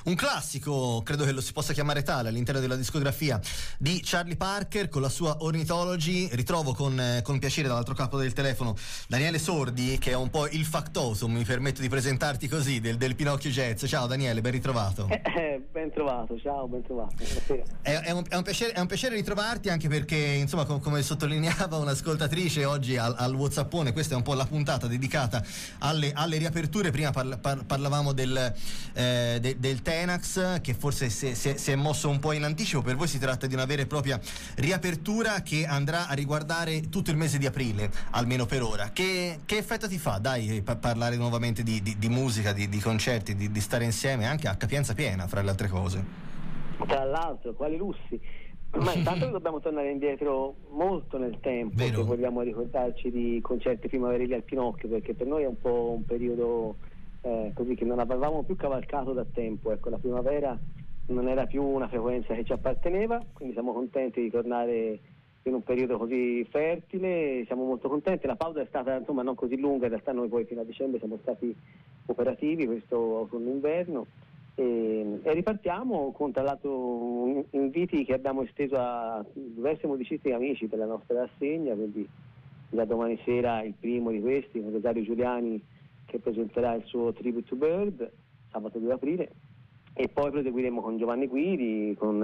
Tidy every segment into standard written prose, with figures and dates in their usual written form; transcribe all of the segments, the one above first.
Un classico, credo che lo si possa chiamare tale, all'interno della discografia di Charlie Parker con la sua Ornithology. Ritrovo con piacere dall'altro capo del telefono Daniele Sordi, che è un po' il factotum, mi permetto di presentarti così, del Pinocchio Jazz. Ciao Daniele, ben ritrovato. Ben trovato, ciao, ben trovato. È un piacere ritrovarti, anche perché, insomma, come sottolineava un'ascoltatrice oggi al WhatsAppone, questa è un po' la puntata dedicata alle riaperture. Prima parlavamo del Tenax, che forse si è mosso un po' in anticipo. Per voi si tratta di una vera e propria riapertura che andrà a riguardare tutto il mese di aprile, almeno per ora. Che effetto ti fa, dai, parlare nuovamente di musica, di concerti, di stare insieme anche a capienza piena, fra le altre cose? Tra l'altro, quali lussi! Ma intanto dobbiamo tornare indietro molto nel tempo, Vero. se vogliamo ricordarci di concerti primaverili al Pinocchio, perché per noi è un po' un periodo così che non avevamo più cavalcato da tempo. Ecco, la primavera non era più una frequenza che ci apparteneva, quindi siamo contenti di tornare in un periodo così fertile, siamo molto contenti. La pausa è stata insomma non così lunga, in realtà noi poi fino a dicembre siamo stati operativi questo autunno-inverno. E ripartiamo con, tra l'altro, inviti che abbiamo esteso a diversi musicisti e amici per la nostra rassegna, quindi da domani sera il primo di questi, con Rosario Giuliani, che presenterà il suo Tribute to Bird, sabato 2 aprile, e poi proseguiremo con Giovanni Guidi, con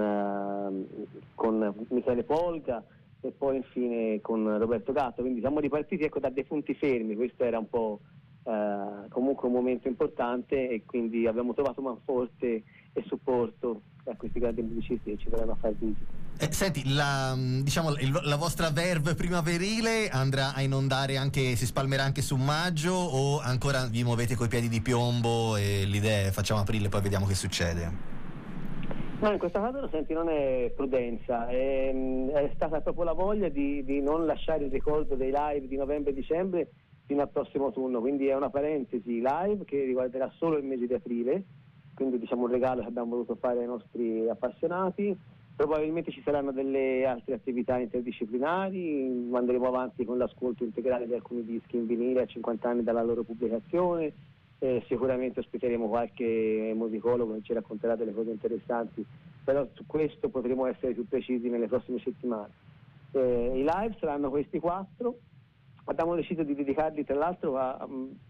Michele Polga e poi infine con Roberto Gatto. Quindi siamo ripartiti, ecco, da dei punti fermi. Questo era un po' comunque un momento importante, e quindi abbiamo trovato manforte e supporto a questi grandi musicisti che ci verranno a fare visita. Senti, la vostra verve primaverile andrà a inondare anche, si spalmerà anche su maggio, o ancora vi muovete coi piedi di piombo e l'idea è facciamo aprile e poi vediamo che succede? No, in questo caso, senti, non è prudenza, è stata proprio la voglia di non lasciare il ricordo dei live di novembre e dicembre fino al prossimo autunno, quindi è una parentesi live che riguarderà solo il mese di aprile, quindi diciamo un regalo che abbiamo voluto fare ai nostri appassionati. Probabilmente ci saranno delle altre attività interdisciplinari, andremo avanti con l'ascolto integrale di alcuni dischi in vinile a 50 anni dalla loro pubblicazione, sicuramente ospiteremo qualche musicologo che ci racconterà delle cose interessanti, però su questo potremo essere più precisi nelle prossime settimane. I live saranno questi 4. Abbiamo deciso di dedicarli tra l'altro a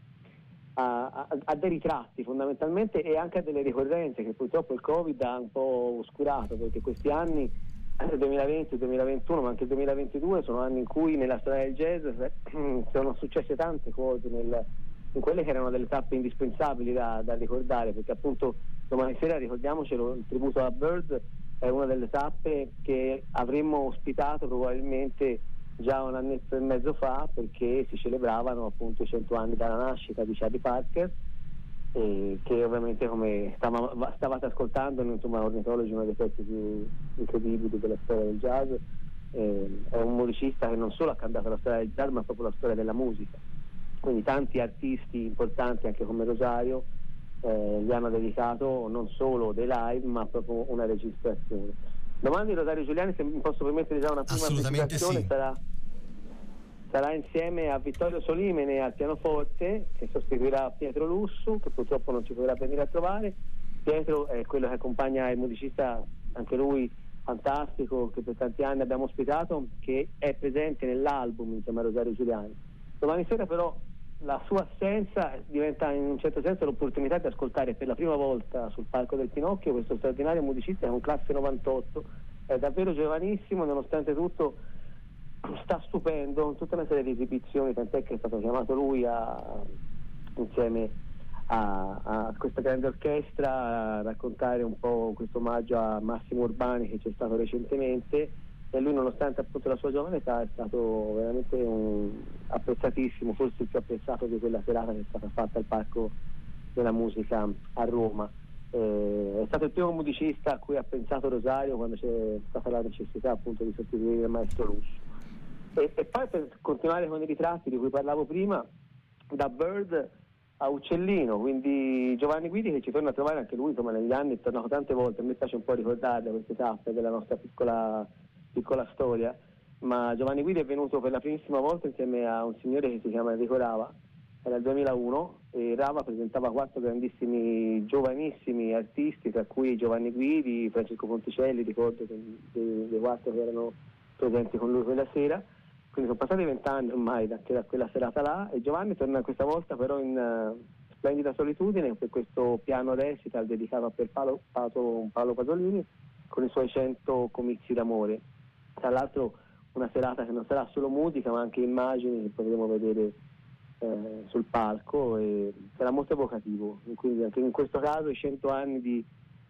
dei ritratti fondamentalmente, e anche a delle ricorrenze che purtroppo il Covid ha un po' oscurato, perché questi anni, il 2020, il 2021 ma anche il 2022, sono anni in cui nella storia del jazz sono successe tante cose in quelle che erano delle tappe indispensabili da ricordare, perché appunto domani sera, ricordiamocelo, il tributo a Bird è una delle tappe che avremmo ospitato probabilmente già un annetto e mezzo fa, perché si celebravano appunto i 100 anni dalla nascita di Charlie Parker, che ovviamente, come stavate ascoltando, insomma, Ornithology è uno dei pezzi più incredibili della storia del jazz. È un musicista che non solo ha cambiato la storia del jazz ma proprio la storia della musica, quindi tanti artisti importanti anche come Rosario gli hanno dedicato non solo dei live ma proprio una registrazione. Domani Rosario Giuliani, se mi posso permettere già una prima presentazione, sì. sarà insieme a Vittorio Solimene al pianoforte, che sostituirà Pietro Lussu, che purtroppo non ci potrà venire a trovare. Pietro è quello che accompagna il musicista, anche lui fantastico, che per tanti anni abbiamo ospitato, che è presente nell'album insieme a Rosario Giuliani. Domani sera però la sua assenza diventa in un certo senso l'opportunità di ascoltare per la prima volta sul palco del Pinocchio questo straordinario musicista, è un classe 98, è davvero giovanissimo, nonostante tutto sta stupendo con tutta una serie di esibizioni, tant'è che è stato chiamato lui insieme a questa grande orchestra a raccontare un po' questo omaggio a Massimo Urbani che c'è stato recentemente, e lui, nonostante appunto la sua giovane età, è stato veramente apprezzatissimo, forse il più apprezzato di quella serata che è stata fatta al Parco della Musica a Roma. È stato il primo musicista a cui ha pensato Rosario quando c'è stata la necessità appunto di sostituire il maestro Lussu. E poi, per continuare con i ritratti di cui parlavo prima, da Bird a Uccellino, quindi Giovanni Guidi, che ci torna a trovare anche lui, insomma, negli anni è tornato tante volte. A me piace un po' ricordarle queste tappe della nostra piccola storia, ma Giovanni Guidi è venuto per la primissima volta insieme a un signore che si chiama Enrico Rava, era il 2001, e Rava presentava 4 grandissimi, giovanissimi artisti, tra cui Giovanni Guidi, Francesco Ponticelli, ricordo dei 4 che erano presenti con lui quella sera. Quindi sono passati 20 anni ormai da quella serata là, e Giovanni torna questa volta però in splendida solitudine per questo piano recital dedicato a Paolo Pasolini con i suoi 100 comizi d'amore. Tra l'altro una serata che non sarà solo musica ma anche immagini che potremo vedere sul palco, e sarà molto evocativo. Quindi anche in questo caso i 100 anni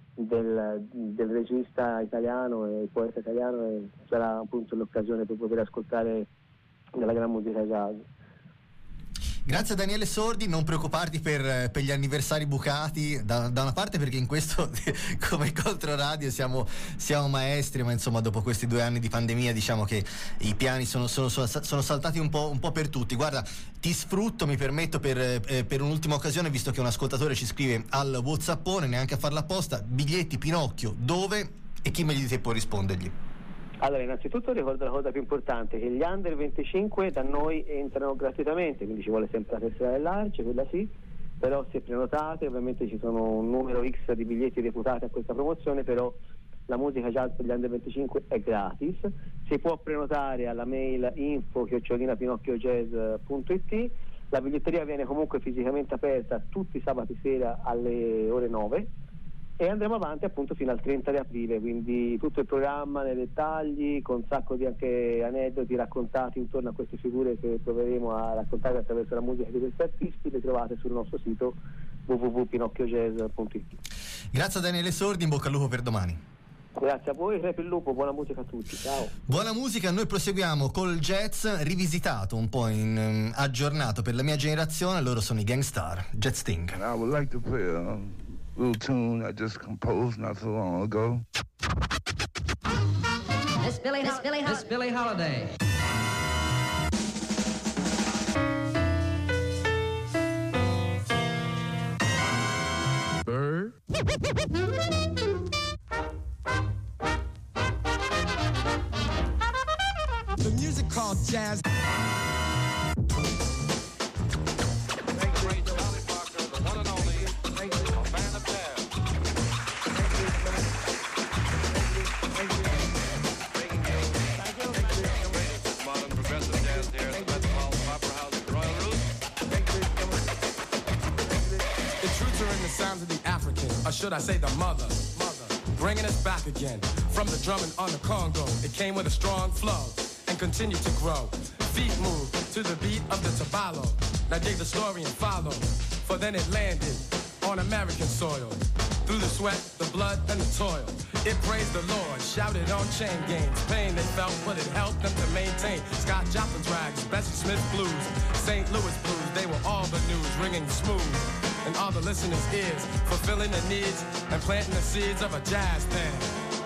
del regista italiano e poeta italiano, e sarà appunto l'occasione per poter ascoltare della gran musica jazz. Grazie a Daniele Sordi, non preoccuparti per gli anniversari bucati da una parte, perché in questo come Controradio siamo maestri, ma insomma dopo questi 2 anni di pandemia diciamo che i piani sono saltati un po' per tutti. Guarda, ti sfrutto, mi permetto per un'ultima occasione, visto che un ascoltatore ci scrive al WhatsAppone, neanche a farla apposta: biglietti Pinocchio dove, e chi meglio di te può rispondergli? Allora, innanzitutto ricordo la cosa più importante, che gli under 25 da noi entrano gratuitamente, quindi ci vuole sempre la tessera dell'ARCE, quella sì, però se prenotate ovviamente ci sono un numero X di biglietti deputati a questa promozione, però la musica jazz per gli under 25 è gratis, si può prenotare alla mail info@pinocchiojazz.it. La biglietteria viene comunque fisicamente aperta tutti i sabati sera alle ore 9, e andremo avanti appunto fino al 30 di aprile, quindi tutto il programma nei dettagli, con un sacco di anche aneddoti raccontati intorno a queste figure che proveremo a raccontare attraverso la musica di questi artisti. Le trovate sul nostro sito www.pinocchiojazz.it. Grazie a Daniele Sordi, in bocca al lupo per domani. Grazie a voi, Crepe il Lupo, buona musica a tutti, ciao. Buona musica, noi proseguiamo col jazz rivisitato, un po' aggiornato per la mia generazione. Loro sono i Gang Starr, Jet Sting. And I would like to play a little tune I just composed not so long ago. Miss Billie Holiday. Bird. The music called jazz. Sounds of the African, or should I say the mother, bringing us back again from the drumming on the Congo. It came with a strong flow and continued to grow. Feet move to the beat of the tabalo. Now dig the story and follow, for then it landed on American soil. Through the sweat, the blood, and the toil, it praised the Lord, shouted on chain gangs. Pain they felt, but it helped them to maintain. Scott Joplin's rags, Bessie Smith blues, St. Louis blues, they were all the news, ringing smooth in all the listeners' ears, fulfilling the needs and planting the seeds of a jazz band.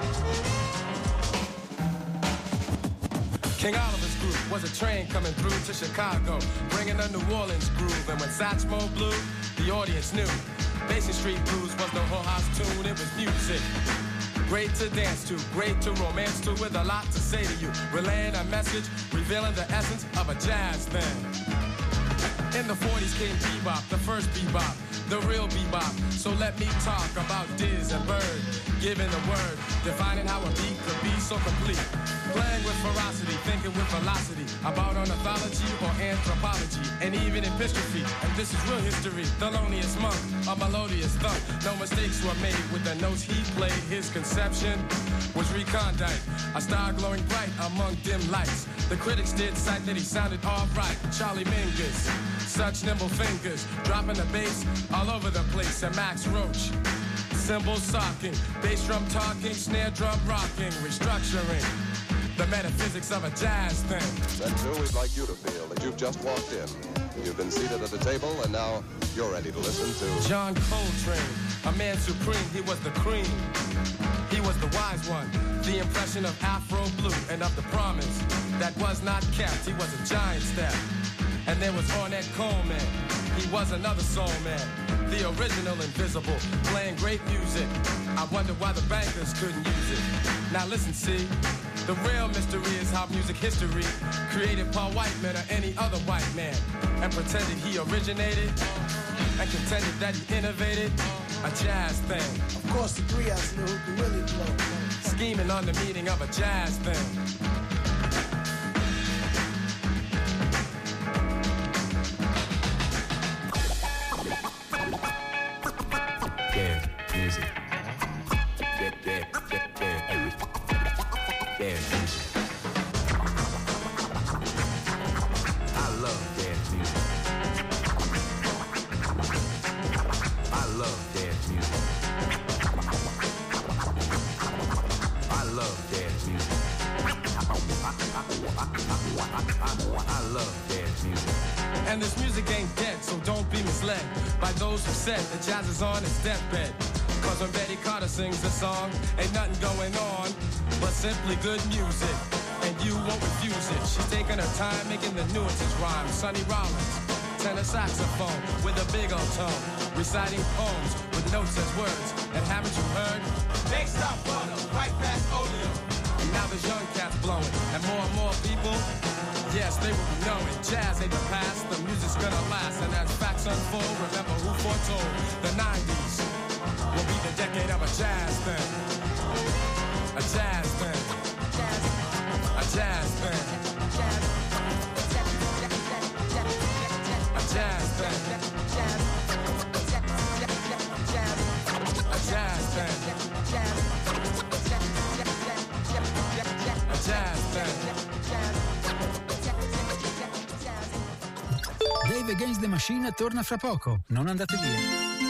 King Oliver's group was a train coming through to Chicago, bringing a New Orleans groove. And when Satchmo blew, the audience knew Basin Street Blues was the whole house tune. It was music, great to dance to, great to romance to, with a lot to say to you, relaying a message, revealing the essence of a jazz band. In the 40s came bebop, the first bebop, the real bebop. So let me talk about Diz and Bird, giving the word, defining how a beat could be so complete. Playing with ferocity, thinking with velocity, about ornithology or anthropology, and even epistrophe. And this is real history, Thelonious Monk, a melodious thump. No mistakes were made with the notes he played. His conception was recondite, a star glowing bright among dim lights. The critics did cite that he sounded all right. Charlie Mingus, such nimble fingers, dropping the bass all over the place. And Max Roach, cymbals socking, bass drum talking, snare drum rocking, restructuring the metaphysics of a jazz thing. Then too, we'd like you to feel that you've just walked in. You've been seated at the table, and now you're ready to listen to John Coltrane, a man supreme. He was the cream. He was the wise one, the impression of Afro blue and of the promise that was not kept. He was a giant step. And there was Ornette Coleman. He was another soul man, the original Invisible, playing great music. I wonder why the bankers couldn't use it. Now listen, see, The real mystery is how music history created by white men or any other white man and pretended he originated and contended that he innovated a jazz thing. Of course, the three of us knew who could really blow. Scheming on the meaning of a jazz thing. And this music ain't dead, so don't be misled by those who said that jazz is on its deathbed. Cause when Betty Carter sings a song, ain't nothing going on but simply good music, and you won't refuse it. She's taking her time making the nuances rhyme. Sonny Rollins, tenor saxophone with a big old tone, reciting poems with notes as words. And haven't you heard? They stop butter, right past Oleo. Now there's young cats blowing, and more people, yes, they will be knowing. Jazz ain't the past, the music's gonna last. And as facts unfold, remember who foretold the 90s will be the decade of a jazz thing. A jazz thing. A jazz thing. A jazz thing. A jazz thing. A jazz thing. Dave Against the Machine torna fra poco, non andate via.